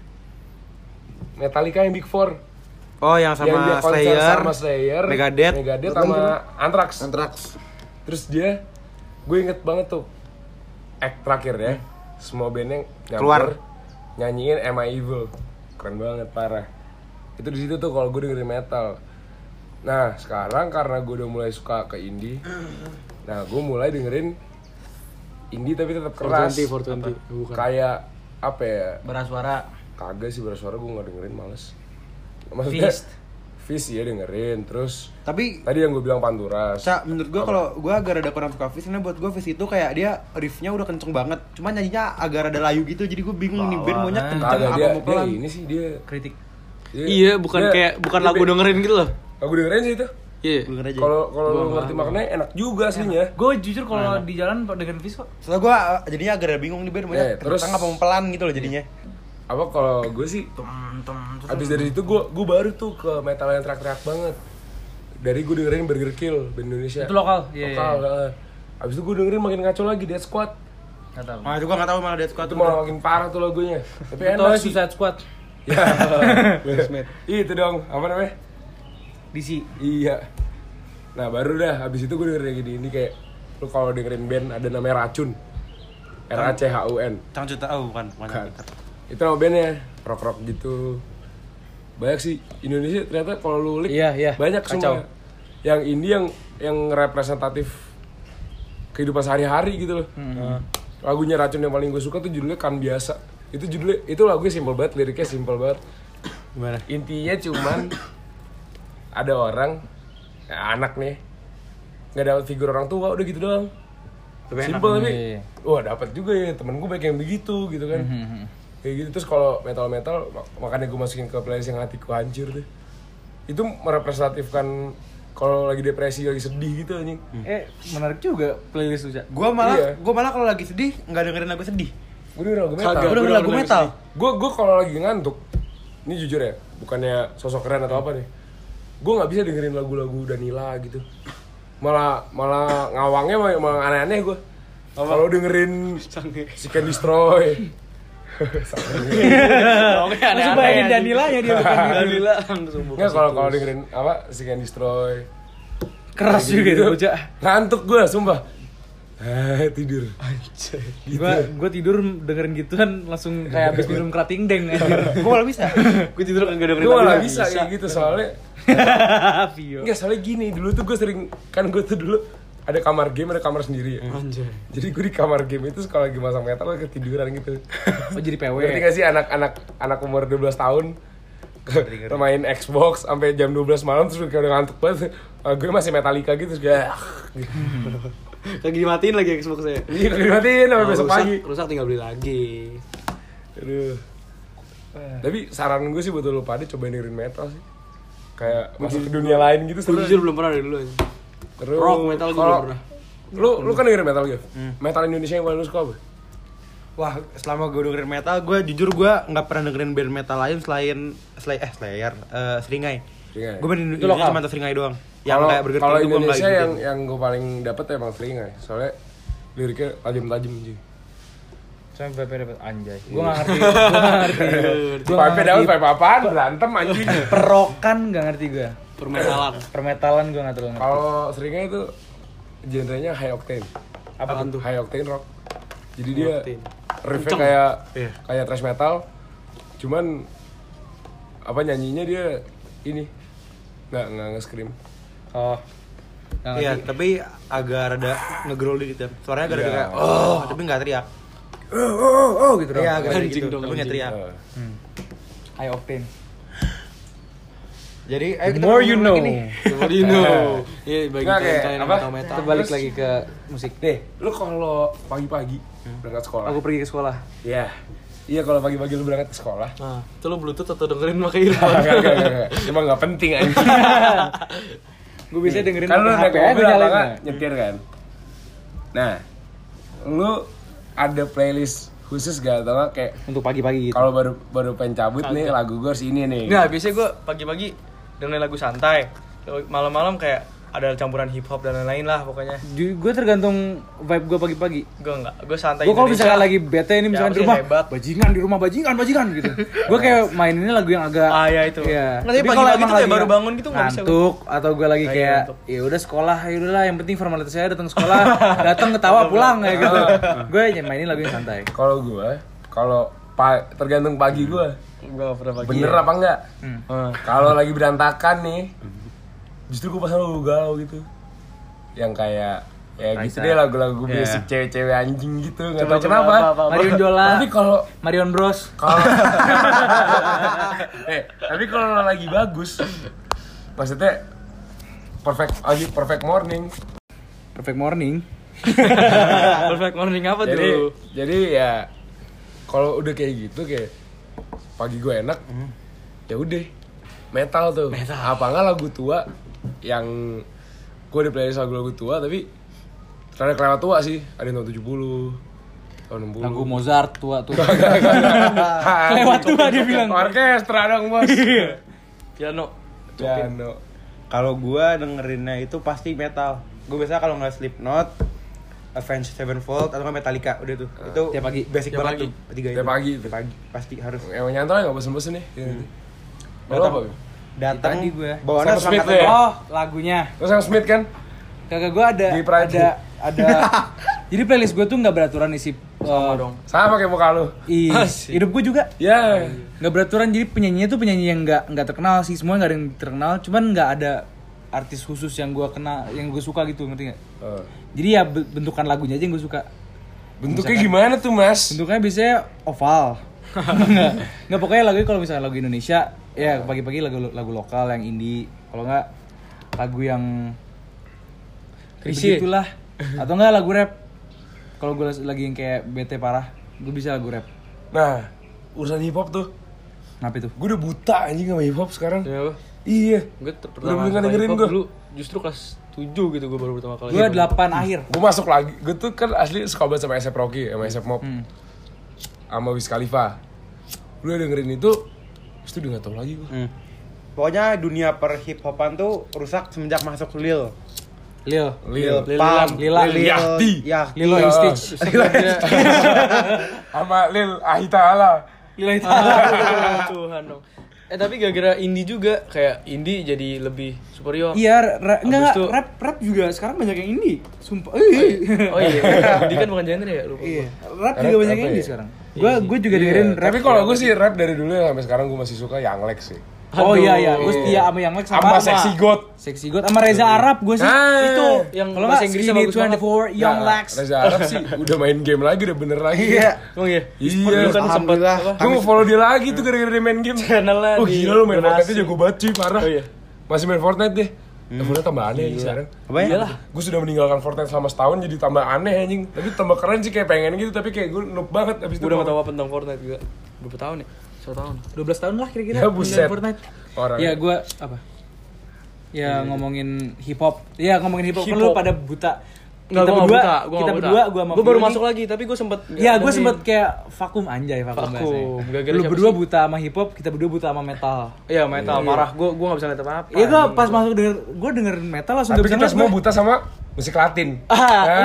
Metallica yang Big Four. Oh yang Yang dia sama konser Slayer, sama Slayer, Megadeth sama Anthrax. Anthrax. Terus dia, gue inget banget tuh act terakhir ya, semua bandnya Keluar. nyanyiin Am I Evil, keren banget parah. Itu di situ tuh kalau gue dengerin metal. Nah sekarang karena gue udah mulai suka ke indie, nah gue mulai dengerin indie tapi tetap keras. 420, bukan. Kayak apa ya? Berasuara. Kagak sih bersuara, gue nggak dengerin, males. Maksudnya Fist ya dengerin, terus Tapi tadi yang gue bilang Panturas. menurut gue kalau gue agak rada kurang suka Fizz karena buat gue Fizz itu kayak dia riffnya udah kenceng banget, cuma nyanyinya agak rada layu gitu, jadi gue bingung nih band maunya kenceng Kagak, apa dia mau pelan. ini sih dia. Kritik. Iya, bukan lagu dengerin gitu loh. Lagu dengerin sih itu. Iya. Denger aja. Kalau lu ngerti maknanya enak juga aslinya. Gue jujur kalau di jalan dengan Fis kok. Soalnya gue jadinya agak rada bingung nih band maunya Terus- kenceng apa mau pelan gitu loh jadinya. Apa kalau gue sih abis dari itu gue baru tuh ke metal yang teriak-teriak banget. Dari gue dengerin Burger Kill band Indonesia. Itu lokal. Iya. Lokal. Abis itu gue dengerin makin ngaco lagi Death Squad. Enggak tahu. Nah itu gue nggak tahu malah Death Squad Itu malah makin parah tuh lagunya. Tapi Itu enak sih. Suicide Squad. Ya. Itu dong, apa namanya? DC. Iya. Nah baru dah, habis itu gue dengerin gini ini kayak lu kalau dengerin band ada namanya Racun, RACHUN. Cangcut bukan. Kan. Itu nama bandnya, rock gitu. Banyak sih Indonesia ternyata kalau lu lihat Iya, banyak kacau. semua. Yang ini yang representatif kehidupan sehari-hari gitu loh. Lagunya Racun yang paling gue suka tuh judulnya Kan Biasa. Itu lagunya simpel banget, liriknya simpel banget. Gimana? Intinya cuman ada orang anak nih nggak dapat figur orang tua, udah gitu doang. Lebih enak. Simple tapi Iya. wah dapat juga ya temen gue banyak yang begitu gitu kan. Kayak gitu terus kalau metal makanya gue masukin ke playlist yang hatiku hancur tuh. Itu merepresentatifkan kalau lagi depresi, lagi sedih gitu anjing. Menarik juga playlist lu, Cak. Gua malah Iya. kalau lagi sedih nggak dengerin lagu sedih. Gue denger lagu metal. Kagak. Gua dengerin lagu metal. Gue kalau lagi ngantuk, ini jujur ya, bukannya sosok keren atau apa nih. Gue nggak bisa dengerin lagu-lagu Danila gitu. Malah ngawangnya malah aneh-aneh gue. Kalau dengerin Seek and Destroy. Langsung bayangin Danilanya dia bukan gitu. Danila langsung buka. Nggak kalau dengerin apa Seek and Destroy. Keras Kayak juga gitu. itu, Cak. Ngantuk gue, sumpah. Tidur. Gitu. Gua tidur dengerin gituan langsung kayak habis minum kerating deng anjir. Gua malah bisa. Gue tidur kagak dengerin Gue lagu. malah bisa kayak gitu soalnya. Vio. Enggak, soalnya gini, dulu tuh gue sering, kan gue tuh dulu ada kamar game, ada kamar sendiri ya. Anjay. Jadi gue di kamar game itu kalau lagi masang metal gue ketiduran gitu. Oh jadi PW. Ngerti gak sih anak umur 12 tahun main Xbox sampai jam 12 malam terus kayak udah ngantuk banget. Gue masih Metallica gitu terus kayak Lagi dimatiin lagi Xbox saya. iya dimatiin sampai besok pagi. Rusak tinggal beli lagi. Aduh. Tapi saran gue sih buat lu pada cobain dengerin metal sih. Kayak masuk ke dunia lain gitu Gue seru. jujur belum pernah dari dulu aja. Terus Rock, metal gue kalau- belum pernah. Lu kan dengerin metal gitu? Metal Indonesia yang paling lu suka apa? Wah, selama gue dengerin metal, gue jujur gue nggak pernah dengerin band metal lain selain Slayer, Seringai. Seringai. Gue band Itu Indonesia lokal. cuma tahu Seringai doang. Yang Kalau kayak Burger kalau King itu gue nggak Indonesia ikutin. yang gue paling dapet emang Seringai. Soalnya liriknya tajam-tajam anjing. Sampai PP dapat anjay. Gua enggak ngerti. Gua nggak Pipe daun, ngerti. pipe apaan? Berantem anjing. Perokan enggak ngerti gua. Permetalan. Permetalan gua enggak terlalu ngerti. Kalau Seringai itu genrenya high octane. Apaan tuh? High octane rock. Jadi dia octane. riffnya Kenceng. kayak kayak thrash metal. Cuman apa nyanyinya dia ini nggak nge-scream. Oh. Nggak Iya, ngerti. tapi agak rada ngegrol dikit ya. Suaranya agak Iya. kayak tapi nggak teriak. Gitu dong. Iya, agak Anjing gitu, dong, tapi nggak anjing. teriak. High octane. Jadi, The kita more ngomong you lagi know. nih. What do you know? Iya, bagi Nggak, kayak kalian yang apa? tahu metal. Kita balik Terus- lagi ke musik. Deh, lu kalau pagi-pagi berangkat sekolah. Aku pergi ke sekolah. Iya. Iya kalau pagi-pagi lu berangkat ke sekolah. Nah, itu lo Bluetooth atau dengerin pakai earphone? Enggak. Emang nggak penting anjing. Gua bisa dengerin Kan lu pakai naik HP aja, mobil gua apa nyalain nggak lah. nyetir kan. Nah, lu ada playlist khusus gak atau nggak kayak Untuk pagi-pagi gitu. kalau baru pengen cabut nih lagu gue harus ini nih. Nggak, biasanya gue pagi-pagi dengerin lagu santai. Malam-malam kayak ada campuran hip hop dan lain-lain lah pokoknya. Gue tergantung vibe gue pagi-pagi. Gue enggak, gue santai. Gue kalau Indonesia. misalkan lagi bete ini misalkan Ya, di rumah, pasti hebat. bajingan gitu. Gue kayak maininnya lagu yang agak Ya itu. Iya. Nggak, tapi Tapi pagi-pagi emang tuh kayak lagi baru bangun gitu nggak bisa gua. ngantuk atau gue lagi Lagi kayak ngantuk. ya udah sekolah, ya udahlah yang penting formalitas saya datang sekolah, datang ketawa pulang kayak gitu. Gue mainin lagu yang santai. Kalau gue, tergantung pagi gue. Gue pernah pagi. Bener apa enggak? Ah. Kalau lagi berantakan nih, justru gue pasang lagu galau gitu. Yang kayak ya gitu Raisa. deh lagu-lagu Iya. basic cewek-cewek anjing gitu, nggak Coba- tahu coba kenapa. apa. Marion Jola, Tapi kalau Marion Bros. tapi kalau lagi bagus, maksudnya perfect morning. Perfect Morning. Perfect morning apa Jadi tuh? ya kalau udah kayak gitu kayak pagi gue enak, ya udah metal tuh. Apa enggak lagu tua yang gue di playlist lagu-lagu tua tapi ternyata kelewat tua sih. Ada yang tahun 70, tahun 60. Lagu Mozart tua tuh. Kelewat tua dia bilang. Orkestra dong bos. Piano. Piano. Kalau gua dengerinnya itu pasti metal. Gue biasanya kalau nggak Slipknot, Avenged Sevenfold atau nggak Metallica udah tuh. Itu Tiap pagi. basic Tiap banget pagi. tuh. Tiga Tiap itu. pagi. Tiap pagi pasti harus. Emang nyantol nggak bosen-bosen nih. Lo Datang. apa? Datang Tadi gua. bawaannya Sam Smith semangat ya? Oh, lagunya. Lo Sam Smith kan? Kagak gue ada Di Pride. ada jadi playlist gue tuh nggak beraturan isi Sama dong. Sama kayak muka lo. Asik. hidup gue juga Ya. nggak beraturan, jadi penyanyinya tuh penyanyi yang nggak terkenal sih, semua nggak ada yang terkenal, cuman nggak ada artis khusus yang gue kenal, yang gue suka gitu, ngerti nggak? Jadi ya bentukan lagunya aja yang gue suka. Bentuknya gimana tuh mas? Bentuknya biasanya oval. nggak pokoknya lagu kalau misalnya lagu Indonesia ya pagi-pagi lagu lokal yang indie, kalau nggak lagu yang Krisye. begitulah, atau nggak lagu rap. Kalau gue lagi yang kayak bete parah, gue bisa lagu rap. Nah, urusan hip hop tuh. Kenapa itu? Gue udah buta anjing sama hip hop sekarang. Ya apa? Iya. Gue Udah pertama mulai dengerin hip hop gue. dulu justru kelas 7 gitu gue baru pertama kali. Gue 8 akhir. Gue masuk lagi. Gue tuh kan asli suka banget sama A$AP Rocky, sama A$AP Mob. Sama Wiz Khalifa. Gue dengerin itu, terus tuh udah gak tau lagi gue. Pokoknya dunia per hip hopan tuh rusak semenjak masuk Lil Lil. Pump, Lila. Lil Yachty. Lilo and Stitch. Sama Lil Ahitala. Lila itu. Tuhan dong. Tapi gara-gara indie juga kayak indie jadi lebih superior. Iya, enggak itu- rap juga sekarang banyak yang indie. Sumpah. Oh iya, indie kan bukan genre ya, lupa. Iya, rap juga Rap banyak apa yang indie ya? sekarang. Gue juga dengerin rap. Tapi kalau gue sih rap dari dulu ya sampai sekarang gue masih suka Young Lex sih. Oh Aduh. iya, gue setia sama yang Lex Sama Sexy God. Sexy God sama Reza Arab gue sih. Itu yang Kalau bahasa nggak Inggrisnya Skinny bagus banget. 24 Young Nah, Lex. Reza Arab sih udah main game lagi, udah bener lagi. Iya. Emang iya. Iya. Dulu kan sempat Alhamdulillah. apa? Gue mau follow dia lagi tuh gara-gara dia main game. Channelnya Oh di gila lu main donasi. Fortnite jago banget cuy, parah. Oh iya. Masih main Fortnite deh. Fortnite tambah aneh anjing sekarang. Apa ya? Iyalah. Gue sudah meninggalkan Fortnite selama setahun jadi tambah aneh anjing. Tapi tambah keren sih kayak pengen gitu tapi kayak gue noob banget abis itu. Gue udah gak tau apa tentang Fortnite juga. Berapa tahun ya? 1 tahun. 12 tahun lah kira-kira. Ya, buset. main Fortnite. Orang. Ya gue apa? Ya ngomongin hip hop. Ya ngomongin hip hop. Hip Lu hop. pada buta. Enggak, Kita gua berdua, nggak buta, kita berdua, gue sama Gue baru Fiori. masuk lagi, tapi gue sempet Ya gue sempet kayak vakum anjay vakum Vakum. bahasanya. Gara-gara Lu siapa berdua sih? buta sama hip hop, kita berdua buta sama metal. Iya metal, parah. Gue gak bisa ngeliat apa-apa. Iya gue pas masuk denger metal langsung Tapi gak bisa kita ngeliat semua gua. buta sama musik Latin. Enggak,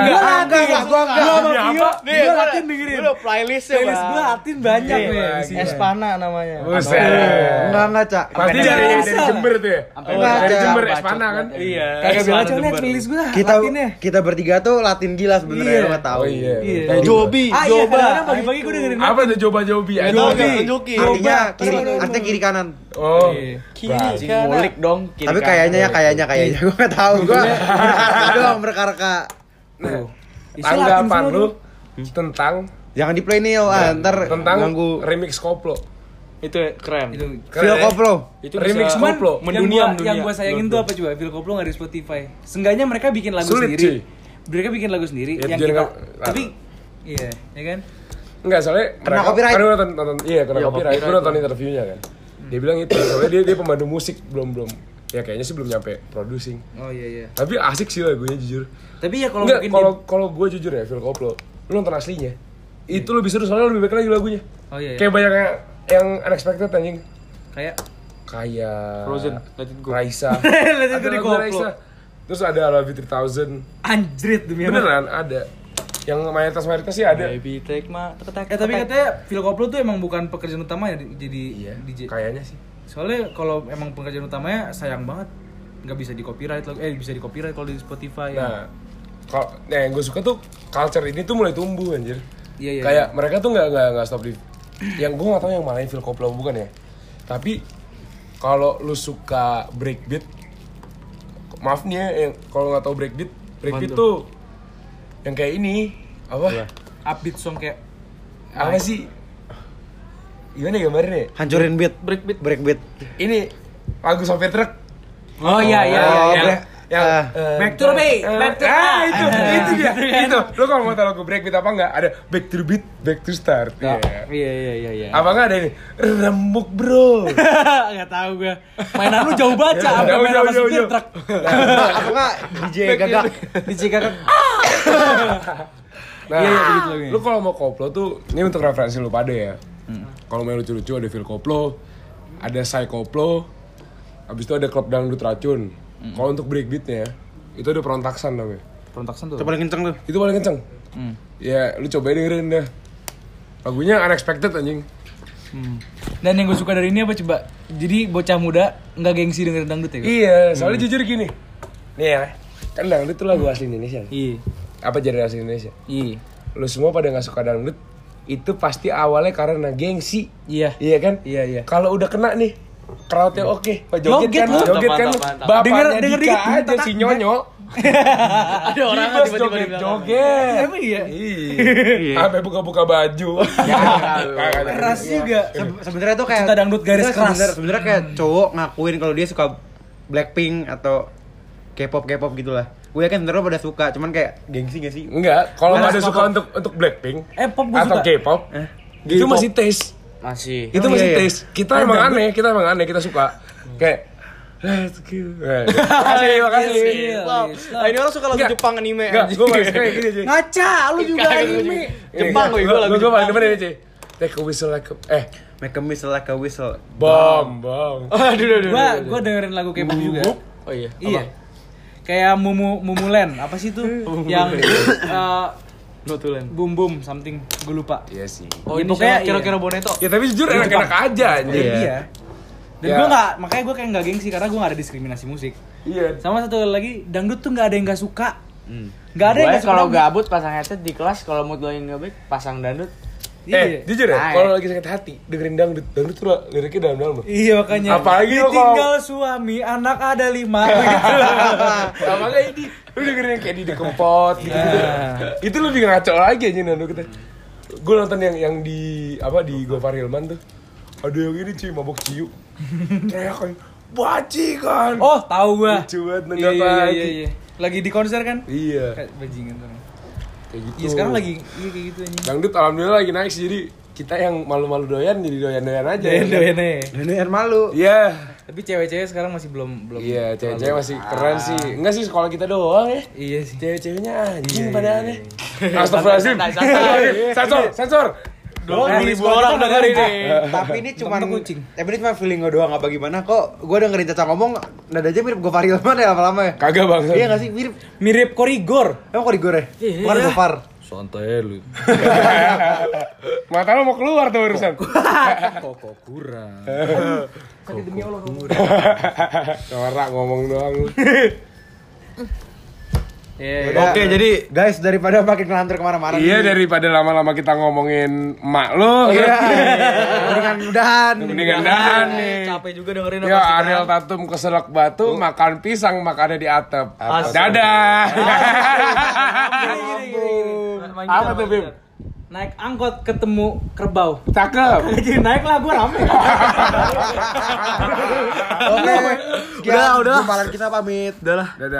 gua Gua sama Ini Vio, apa? Vio Latin dengerin. Lu playlistnya Playlist gue Latin banyak Iya, nih. iya. isinya. Espana namanya. Buset. Enggak, Cak. Pasti Sampai dari dasar. Jember tuh ya. Sampai Dari dasar. Jember Bacot Espana kan. banget. Iya. Kagak bilang Espana aja liat Jember. playlist gue Kita Latinnya. kita bertiga tuh Latin gila sebenarnya, Iya. lu enggak tahu. Oh iya. Iya. Tahu juga. Jobi, Ah iya, Joba. kadang-kadang pagi-pagi gue dengerin Apa tuh coba-cobi? Jobi. Jobi. Tunjukin. Artinya Coba. kiri, Terus. artinya kiri kanan. Oh. Iya. Kiri Anjing, kanan. Ngulik dong. kiri Tapi kanan. kayaknya gue enggak tahu. Gua berkarka. Tuh. Isi Latin Tanggapan semua lu tuh. tentang Jangan di play nih, ntar tentang ganggu. remix koplo. Itu keren. Itu Phil Koplo. Itu Remix bisa koplo. mendunia, yang gue sayangin tuh apa coba? Phil Koplo nggak di Spotify. Seenggaknya mereka bikin lagu Sulit, sendiri. cuy. Mereka bikin lagu sendiri Ya, yang jadi kita. nggak- Tapi iya, ya kan? Enggak, soalnya Kena copyright. Kan gue nonton iya, kena Iya, copyright. Gue copyright. nonton interviewnya kan. Dia bilang itu, soalnya dia pemandu musik belum ya kayaknya sih belum nyampe producing. Oh iya iya. Tapi asik sih lagunya jujur. Tapi ya kalau Enggak, mungkin kalau gue jujur ya Phil Koplo, lu nonton aslinya. Itu lebih seru soalnya lebih baik lagi lagunya. Oh iya. Kayak banyak yang unexpected anjing. Kayak Kayak Frozen, Let It Go. Raisa. Let It Go Ada di lagu Koplo. Raisa. Terus ada I Love You 3000. anjrit demi apa? Beneran ada. Yang mayoritas sih ada. Baby take my Tapi katanya Phil Koplo tuh emang bukan pekerjaan utama ya jadi Iya, DJ. kayaknya sih. Soalnya kalau emang pekerjaan utamanya sayang banget nggak bisa di copyright bisa di copyright kalau di Spotify. Nah, kalau yang gue suka tuh culture ini tuh mulai tumbuh anjir. Iya, iya, Kayak mereka tuh nggak stop di yang gue nggak tahu yang mana yang Phil Koplo bukan ya. Tapi kalau lu suka breakbeat, maaf nih ya, yang kalau nggak tahu breakbeat tuh yang kayak ini apa? Upbeat song kayak Apa sih? Gimana gambarnya? Hancurin beat, Breakbeat. breakbeat. Ini lagu sopir truk. Oh iya iya Oh, iya. bre- Back to the beat, back to the itu dia. Itu. Lu kalau mau tahu lagu breakbeat apa enggak? Ada back to the beat, back to start. Iya. Iya. Apa enggak ada ini? Rembuk, Bro. Enggak tahu gue. Mainan lu jauh baca sampai main sama supir truk. Apa enggak DJ gagak? DJ Gagak. Nah, Iya, begitu lagi. lu kalau mau koplo tuh, ini untuk referensi lu pada ya. Kalau mau lucu-lucu ada Phil Koplo, ada Sai Koplo, habis itu ada Klub Dangdut Racun. Kalau untuk breakbeatnya, itu ada Perontaksan namanya. Perontaksan tuh. Itu paling kenceng tuh. Itu paling kenceng. Ya, lu cobain dengerin dah. Lagunya unexpected anjing. Dan yang gue suka dari ini apa coba? Jadi bocah muda nggak gengsi dengerin dangdut ya? Kak? Iya, soalnya jujur gini. Nih ya, kan dangdut itu lagu asli Indonesia. Iya. Apa genre asli Indonesia? Iya. Lu semua pada nggak suka dangdut, itu pasti awalnya karena gengsi. Iya. Iya kan? Iya. Kalau udah kena nih, crowdnya oke. Pak Joget joget kan, lu. joget kan. Mantap. Bapaknya Denger Dika dikit, aja si Nyonyo. Ada orang Bebas tiba-tiba di belakang. joget. Emang iya? Iya. Sampai buka-buka baju. Keras juga. Sebenarnya tuh kayak Cinta dangdut garis keras. Sebenarnya kayak cowok ngakuin kalau dia suka Blackpink atau K-pop gitulah. gue yakin sebenarnya pada suka, cuman kayak gengsi gak sih? Enggak, kalau Nggak pada suka suka untuk Blackpink Pop gue atau suka. K-pop, itu K-pop. masih taste. Masih. Itu Oh, masih iya, iya. taste. Kita emang aneh, kita suka. Kayak let's go. Makasih. Wow. Nah, ini orang suka lagu Nggak. Jepang anime. Enggak, anjing. gue masih kayak gini, Ci. Ngaca, lu juga anime. Jepang gue lagu Gue paling Jepang. demen ini, Ci. Take a whistle like a Make a whistle like a whistle. bom. Aduh. Gua dengerin lagu K-pop juga. Oh iya. Iya. Kayak Mumulen, apa sih tuh? Yang Notulen. Boom Boom something, gue lupa. Iya sih. Oh, Ya, ini pokoknya siapa? Kira-kira Boneto. Ya tapi jujur enak-enak aja anjir. Iya. Iya. Dan Ya. gue nggak, makanya gue kayak nggak gengsi karena gue nggak ada diskriminasi musik. Iya. Sama satu lagi, dangdut tuh nggak ada yang nggak suka. Nggak ada yang Gue nggak suka. kalau dangdut. gabut pasang headset di kelas, kalau mood gue nggak baik pasang dangdut. Iya. Jujur ya, Naik. kalau lagi sakit hati dengerin dangdut tuh liriknya dalam-dalam loh. Iya makanya. Apalagi lo kalau- ditinggal suami, anak ada 5. Apalagi ini lu dengerin yang kayak di Kempot gitu. Nah. Itu lebih ngaco lagi aja nando kita. Gue nonton yang di apa di Gofar Hilman tuh. Ada yang ini cuy mabok ciu. Teriak kayak bajingan. Oh, tahu gua. Lucu banget, Iya, nenggak iya, lagi. iya, iya. Lagi di konser kan? Iya. Kayak bajingan tuh. Kayak gitu. Iya, sekarang lagi iya kayak gitu anjing. Dangdut alhamdulillah lagi naik sih, jadi kita yang malu-malu doyan jadi doyan-doyan aja. Doyan aja. Ini yang malu. Iya. Tapi cewek-cewek sekarang masih belum Iya, cewek-cewek masih keren sih. Enggak sih sekolah kita doang ya. Iya sih. Cewek-ceweknya anjing Iya, pada iya, aneh. iya. Astagfirullahaladzim. Santai. Sensor. 2000 orang denger ini. Tapi ini cuman Temen kucing. Tapi ini cuma feeling gue doang, apa gimana kok gue dengerin Caca ngomong nada aja mirip Gofar Hilman ya lama-lama ya. Kagak bang. Iya gak sih mirip? Mirip Korigor. Emang kok digore? Iya. Bukan Gofar. Santai lu. Mata lo mau keluar tuh barusan. Kok kurang. Norak ngomong doang lu. Iya. Yaudah. Oke, jadi guys daripada makin ngelantur kemana-mana. Iya nih, daripada lama-lama kita ngomongin emak lu. Iya. Mendingan udahan. Mendingan dahan nih. Capek juga dengerin Ya Ariel Tatum keselak batu makan pisang makannya di atap. Asik. Dadah. Apa tuh, Bim? Naik angkot ketemu kerbau. Cakep. Jadi naik lah gue rame. Oke. Udah. Gumpalan kita pamit. Udah lah. Dadah.